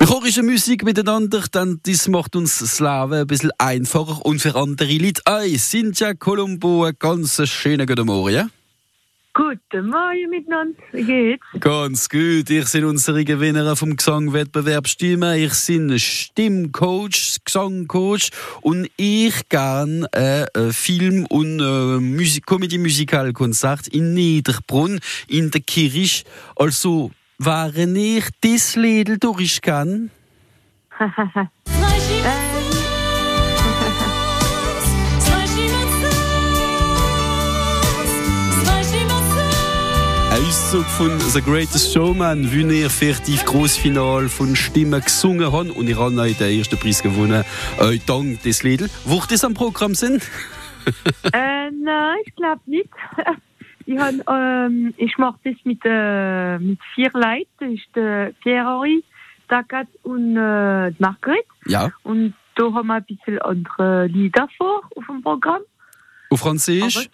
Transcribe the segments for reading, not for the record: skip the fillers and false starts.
Chorische Musik miteinander, dann das macht uns das Leben ein bisschen einfacher und für andere Leute. Cynthia Colombo, einen ganz schönen guten Morgen, ja? Guten Morgen miteinander, wie geht's? Ganz gut, ich bin unsere Gewinnerin vom Gesangwettbewerb Stimme. Ich bin Stimmcoach, Gesangcoach und ich gehe Film- und Comedy-Musical-Konzert in Niederbrunn in der Kirche. Also, während ich das Lied durchgehe, Auszug von The Greatest Showman, wie ich für die Grossfinale von Stimmen gesungen habe und ich habe den ersten Preis gewonnen, dank des Lied. Wo das am Programm sind? Nein, ich glaube nicht. Ich mache das mit 4 Leuten. Das ist der Pierre-Henri, Dagat und Marguerite. Ja. Und da haben wir ein bisschen andere Lieder vor auf dem Programm. Auf Französisch?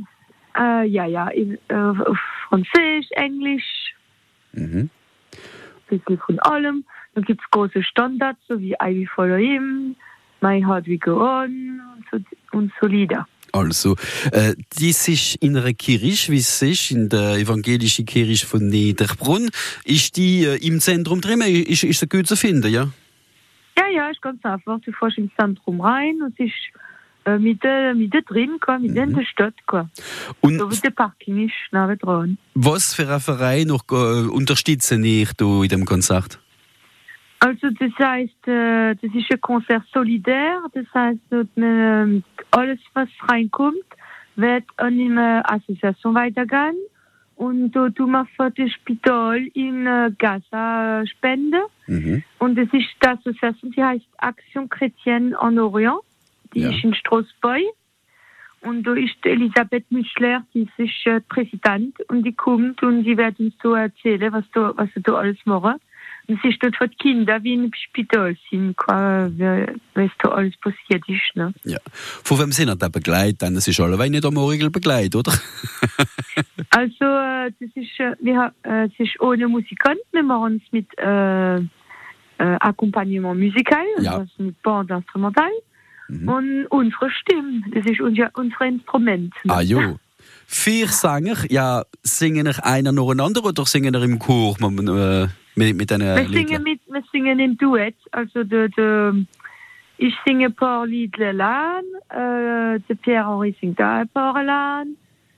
Auf Französisch, Englisch. Ein bisschen von allem. Dann gibt es große Standards, so wie I Will Follow Him, My Heart Will Go On und so Lieder. Also, das ist in einer Kirche, wie es ist, in der evangelischen Kirche von Niederbrunn. Ist die im Zentrum drin? Ist sie gut zu finden, ja? Ja, ist ganz einfach. Du fährst ins Zentrum rein und es ist mit drin, in der Stadt. Und so wie der Parking ist, nah dran. Was für ein Verein noch unterstützen ich in dem Konzert? Also das heißt, das ist ein Konzert solidär. Das heißt, alles, was reinkommt, wird an eine Association weitergehen. Und da tun wir für das Spital in Gaza spenden. Und das ist die Association, die heißt Action Chrétienne en Orient. Die ist in Straßburg. Und da ist Elisabeth Müschler, die ist Präsident. Und die kommt und die wird uns so erzählen, was sie da alles machen. Und es ist dort für die Kinder, wie im Spital sind, was da alles passiert ist. Ne? Ja. Von wem sind da begleitet? Das ist alle nicht am Morgen begleitet, oder? Also, das ist, es ist ohne Musikant. Wir machen es mit Accompagnement musical, also mit Band instrumental. Und unsere Stimme, das ist unser Instrument. Ne? Ah, jo. 4 Sänger, ja, singen ihr einer nacheinander oder singen ihr im Chor mit einer Liedern? Wir singen im Duett. Also ich singe ein paar Lieder allein, der Pierre-Henri singt auch ein paar allein,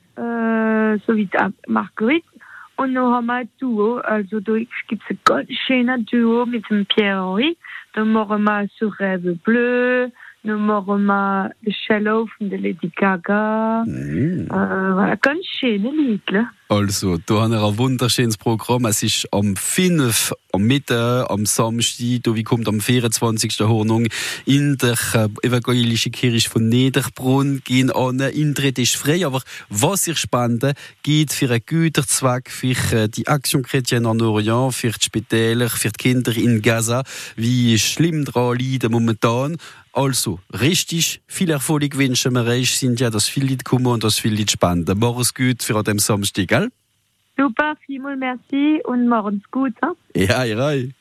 so wie Marguerite. Und dann haben wir ein Duo, also da gibt es ein ganz schönes Duo mit dem Pierre-Henri. Dann machen wir «Ce rêve bleu», dann machen wir «The Shallow» von der Lady Gaga. Ganz schöne Lieder. Also, da haben wir ein wunderschönes Programm. Es ist am 5. am Mittag, am Samstag, wie kommt am 24. Hornung in der evangelischen Kirche von Niederbrunn. Gehen an, Eintritt ist frei, aber was ihr spenden, geht für einen guten Zweck, für die Action Chrétienne en Orient, für die Spitäler, für die Kinder in Gaza, wie schlimm dran leiden momentan. Also, richtig viel Erfolg wünschen wir euch, sind ja, dass viele Leute kommen und dass viele Leute spenden. Mach's gut für an dem Samstag, gell? Super, vielmals merci und morgens gut. Ja, ja.